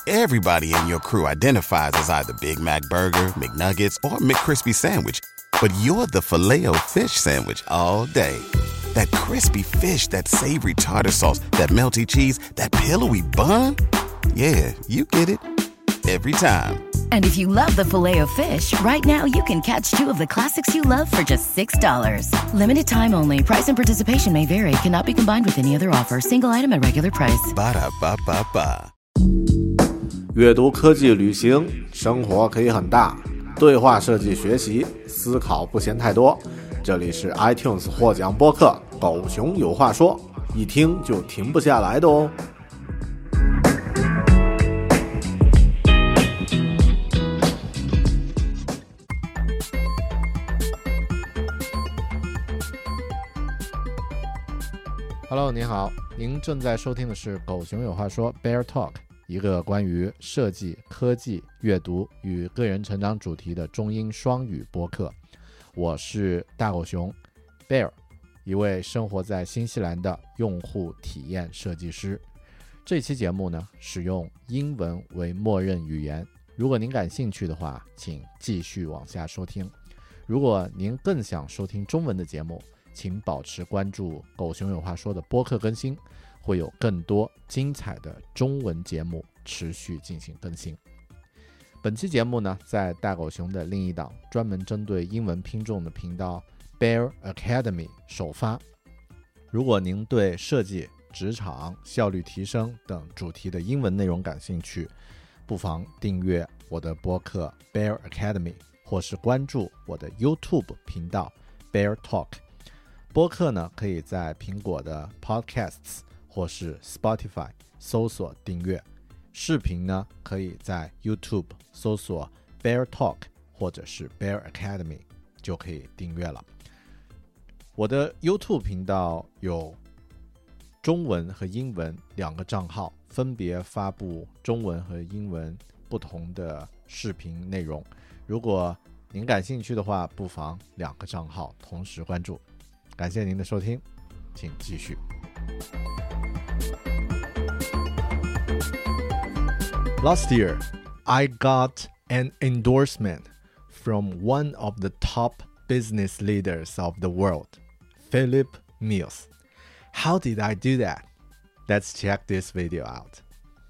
Everybody in your crew identifies as either Big Mac Burger, McNuggets, or McCrispy Sandwich. But you're the Filet-O-Fish Sandwich all day. That crispy fish, that savory tartar sauce, that melty cheese, that pillowy bun. Yeah, you get it. Every time. And if you love the Filet-O-Fish, right now you can catch two of the classics you love for just $6. Limited time only. Price and participation may vary. Cannot be combined with any other offer. Single item at regular price. Ba-da-ba-ba-ba. 阅读、科技、旅行，生活可以很大。对话设计学习，思考不嫌太多。这里是 iTunes 获奖播客《狗熊有话说》，一听就停不下来的哦。Hello， 你好，您正在收听的是《狗熊有话说》Bear Talk， 一个关于设计、科技、阅读与个人成长主题的中英双语播客。我是大狗熊 Bear， 一位生活在新西兰的用户体验设计师。这期节目呢，使用英文为默认语言。如果您感兴趣的话，请继续往下收听。如果您更想收听中文的节目，请保持关注狗熊有话说的播客更新，会有更多精彩的中文节目持续进行更新。本期节目呢，在大狗熊的另一档专门针对英文拼众的频道 Bear Academy 首发。如果您对设计、职场、效率提升等主题的英文内容感兴趣，不妨订阅我的播客 Bear Academy， 或是关注我的 YouTube 频道 Bear Talk。播客呢，可以在苹果的 Podcasts 或是 Spotify 搜索订阅。视频呢，可以在 YouTube 搜索 Bear Talk 或者是 Bear Academy 就可以订阅了。我的 YouTube 频道有中文和英文两个账号，分别发布中文和英文不同的视频内容。如果您感兴趣的话，不妨两个账号同时关注。感谢您的收听，请继续。Last year, I got an endorsement from one of the top business leaders of the world, Philip Mills. How did I do that? Let's check this video out.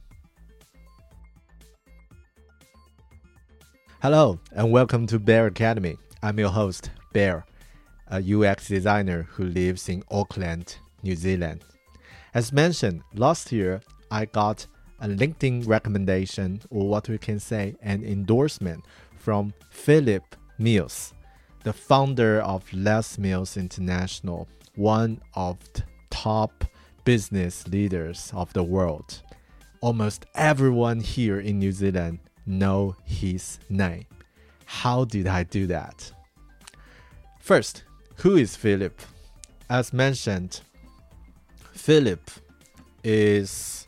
Hello, and welcome to Bear Academy. I'm your host, Bear, a UX designer who lives in Auckland, New Zealand. As mentioned, last year, I got a LinkedIn recommendation, or what we can say, an endorsement from Philip Mills, the founder of Les Mills International, one of the top business leaders of the world. Almost everyone here in New Zealand know his name. How did I do that? First, who is Philip? As mentioned, Philip is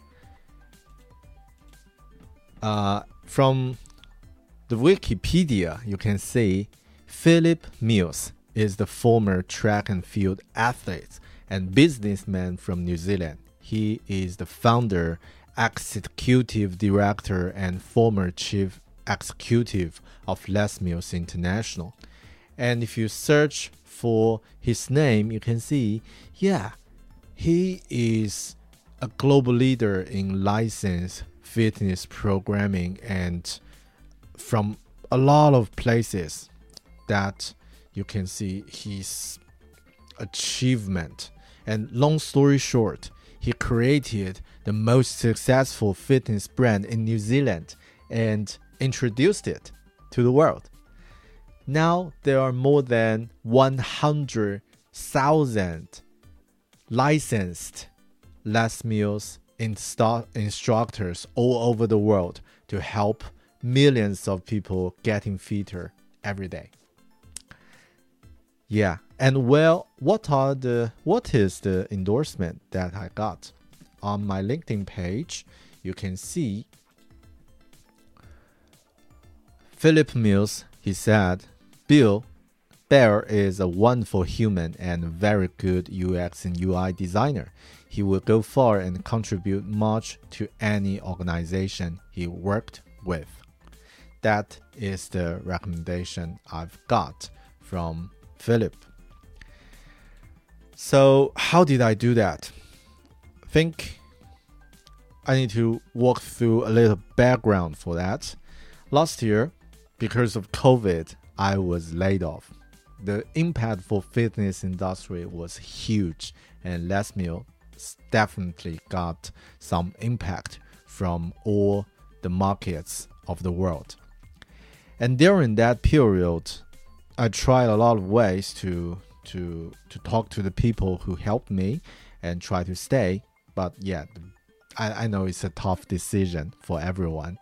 from the Wikipedia, you can see Philip Mills is the former track and field athlete and businessman from New Zealand. He is the founder, executive director, and former chief executive of Les Mills International. And if you search for his name, you can see, he is a global leader in licensed fitness programming and from a lot of places that you can see his achievement. And long story short, he created the most successful fitness brand in New Zealand and introduced it to the world. Now there are more than 100,000 licensed Les Mills instructors all over the world to help millions of people getting fitter every day. Yeah, and well, what is the endorsement that I got? On my LinkedIn page, you can see Philip Mills. He said, Bear is a wonderful human and very good UX and UI designer. he will go far and contribute much to any organization he worked with. That is the recommendation I've got from Philip. So how did I do that? I think I need to walk through a little background for that. Last year, because of COVID, I was laid off. The impact for fitness industry was huge, and Les Mills definitely got some impact from all the markets of the world. And during that period, I tried a lot of ways to talk to the people who helped me and try to stay. But yeah, I know it's a tough decision for everyone.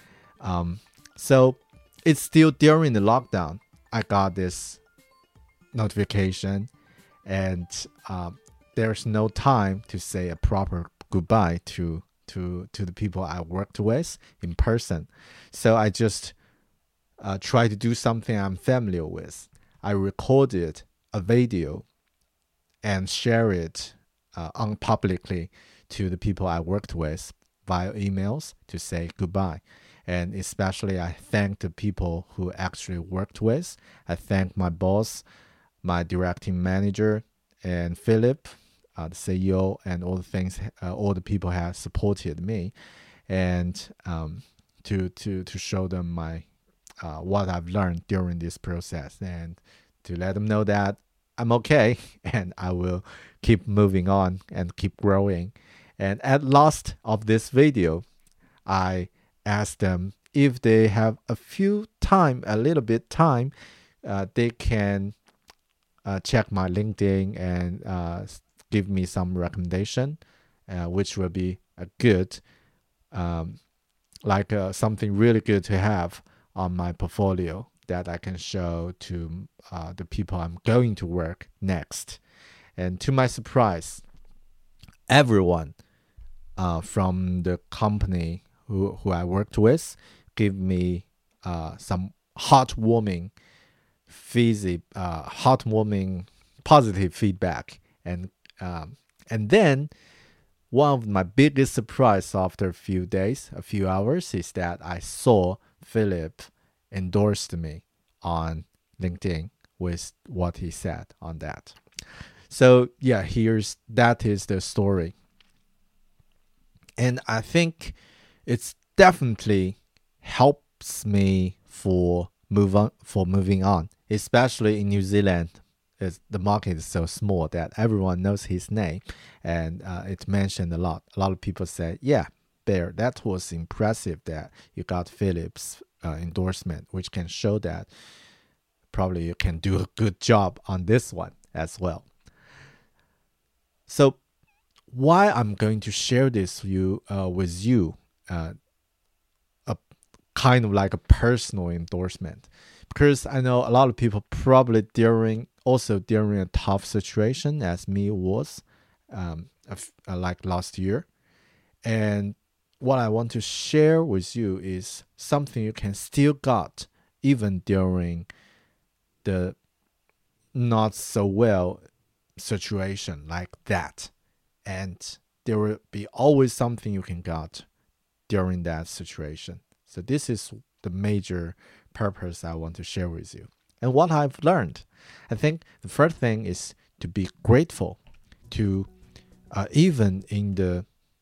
So it's still during the lockdown, I got this notification, and there's no time to say a proper goodbye to the people I worked with in person. So I just try to do something I'm familiar with. I recorded a video and share it publicly to the people I worked with via emails to say goodbye. And especially I thank the people who actually worked with. I thank my boss, my directing manager, and Philip, the CEO, and all the people have supported me, and to show them my what I've learned during this process, and to let them know that I'm okay and I will keep moving on and keep growing. And at last of this video, I asked them if they have a little bit time, they can check my LinkedIn and give me some recommendation, which will be a good, something really good to have on my portfolio that I can show to the people I'm going to work next. And to my surprise, everyone from the company who I worked with gave me some heartwarming positive feedback. And then one of my biggest surprise after a few hours is that I saw Philip endorsed me on LinkedIn with what he said on that. So yeah, that is the story. And I think it's definitely helps me for moving on, especially in New Zealand. The market is so small that everyone knows his name, and it's mentioned a lot. A lot of people say, yeah, Bear, that was impressive that you got Philip's endorsement, which can show that probably you can do a good job on this one as well. So why I'm going to share this with you, a kind of like a personal endorsement, because I know a lot of people probably during a tough situation as me was, like last year. And what I want to share with you is something you can still got even during the not so well situation like that. And there will be always something you can got during that situation. So this is the major purpose I want to share with you. And what I've learned, I think the first thing is to be grateful to even in the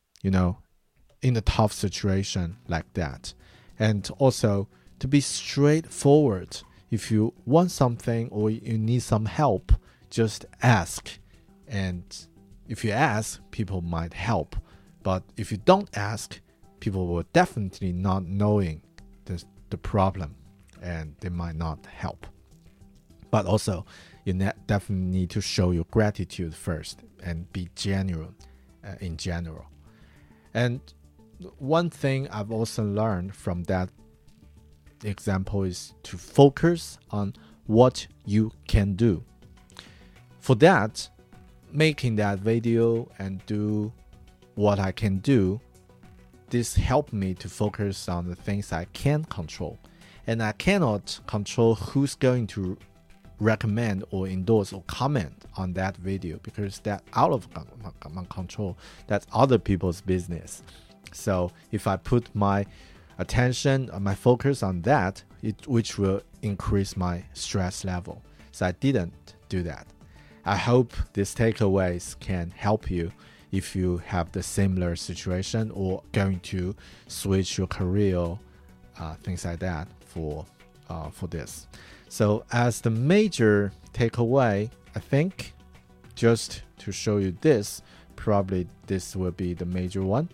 tough situation like that. And also to be straightforward. If you want something or you need some help, just ask. And if you ask, people might help. But if you don't ask, people will definitely not knowing the problem, and they might not help. But also, you definitely need to show your gratitude first and be genuine in general. And one thing I've also learned from that example is to focus on what you can do. For that, making that video and do what I can do, this helped me to focus on the things I can control. And I cannot control who's going to recommend or endorse or comment on that video because that's out of my control. That's other people's business. So if I put my attention, my focus on that, which will increase my stress level. So I didn't do that. I hope these takeaways can help you if you have the similar situation or going to switch your career, things like that for this. So as the major takeaway, I think just to show you this, probably this will be the major one,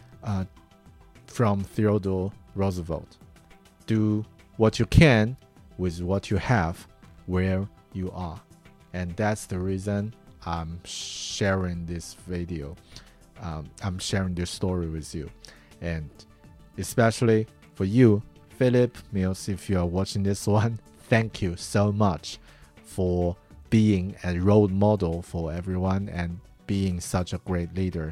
from Theodore Roosevelt. Do what you can with what you have where you are. And that's the reason I'm sharing this video. I'm sharing this story with you. And especially for you, Philip Mills, if you are watching this one, thank you so much for being a role model for everyone and being such a great leader.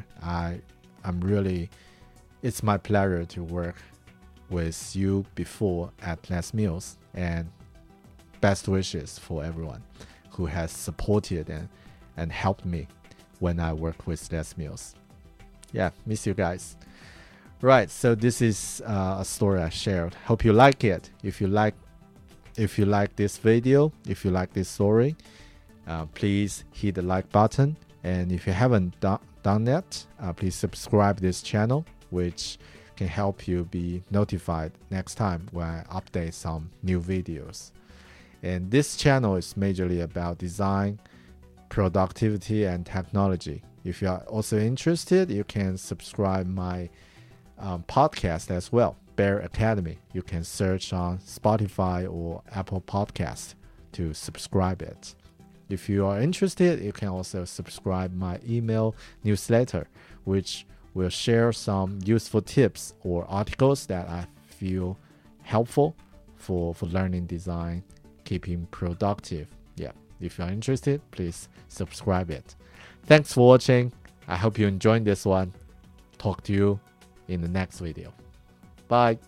It's my pleasure to work with you before at Les Mills, and best wishes for everyone who has supported and helped me when I work with Les Mills. Yeah, miss you guys. Right, so this is a story I shared. Hope you like it. If you like this video, if you like this story, please hit the like button. And if you haven't done that, please subscribe this channel, which can help you be notified next time when I update some new videos. And this channel is majorly about design, productivity, and technology. If you are also interested, you can subscribe my podcast as well, Bear Academy. You can search on Spotify or Apple Podcast to subscribe it. If you are interested, you can also subscribe my email newsletter, which will share some useful tips or articles that I feel helpful for learning design, keeping productive. Yeah, if you're interested, please subscribe it. Thanks for watching. I hope you enjoyed this one. Talk to you in the next video. Bye.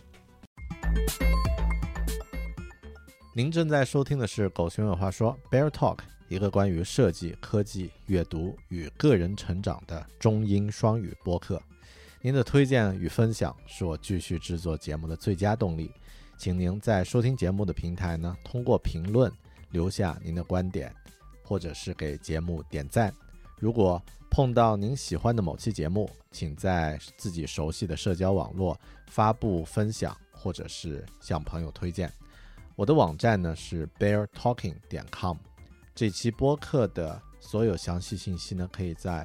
您正在收听的是狗熊有话说 Bear Talk， 一个关于设计、科技、阅读与个人成长的中英双语播客。您的推荐与分享是我继续制作节目的最佳动力。请您在收听节目的平台呢，通过评论留下您的观点，或者是给节目点赞。如果碰到您喜欢的某期节目，请在自己熟悉的社交网络发布分享，或者是向朋友推荐。我的网站呢是 beartalking.com， 这期播客的所有详细信息呢可以在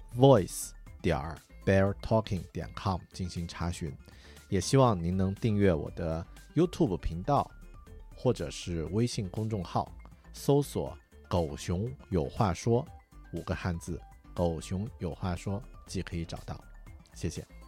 voice.beartalking.com 进行查询。也希望您能订阅我的 YouTube 频道，或者是微信公众号，搜索狗熊有话说5个汉字，狗熊有话说即可以找到。谢谢。